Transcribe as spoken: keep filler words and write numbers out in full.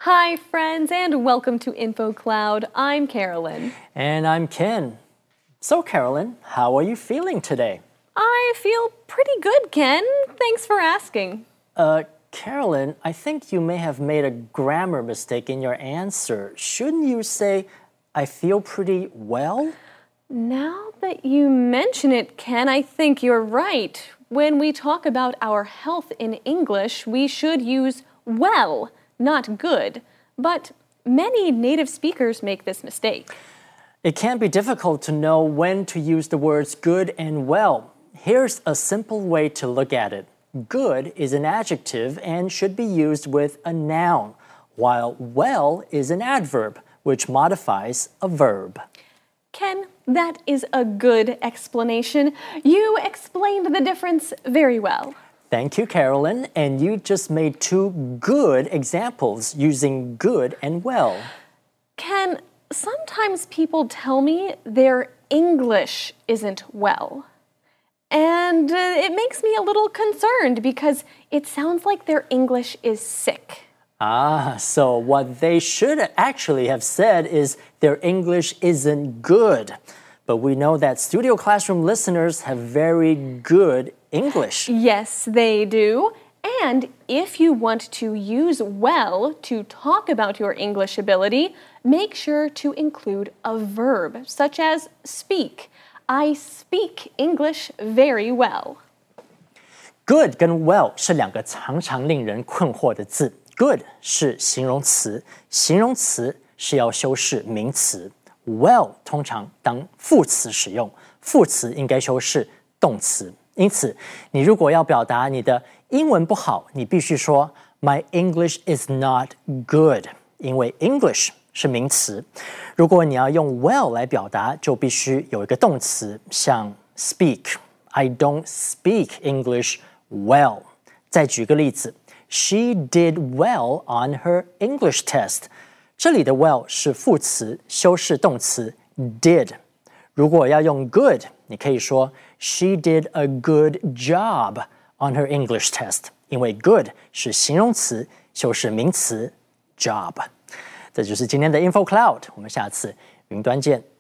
Hi, friends, and welcome to InfoCloud. I'm Carolyn. And I'm Ken. So, Carolyn, how are you feeling today? I feel pretty good, Ken. Thanks for asking. Uh, Carolyn, I think you may have made a grammar mistake in your answer. Shouldn't you say, I feel pretty well? Now that you mention it, Ken, I think you're right. When we talk about our health in English, we should use well, not good. But many native speakers make this mistake. It can be difficult to know when to use the words good and well. Here's a simple way to look at it. Good is an adjective and should be used with a noun, while well is an adverb, which modifies a verb. Ken, that is a good explanation. You explained the difference very well. Thank you, Carolyn. And you just made two good examples using good and well. Ken, sometimes people tell me their English isn't well. And uh, it makes me a little concerned because it sounds like their English is sick. Ah, so what they should actually have said is their English isn't good. But we know that Studio Classroom listeners have very good English. Yes, they do. And if you want to use well to talk about your English ability, make sure to include a verb, such as speak. I speak English very well. Good 跟 well 是两个常常令人困惑的字。Good 是形容词，形容词是要修饰名词。Well 通常当副词使用，副词应该修饰动词。因此，你如果要表达你的英文不好，你必须说 My English is not good， 因为 English 是名词。如果你要用 well 来表达，就必须有一个动词，像 speak。I don't speak English well。再举个例子。She did well on her English test. 这里的 well 是副词，修饰动词 did. 如果要用 good， 你可以说 She did a good job on her English test. 因为 good 是形容词，修饰名词 job. 这就是今天的 InfoCloud， 我们下次云端见。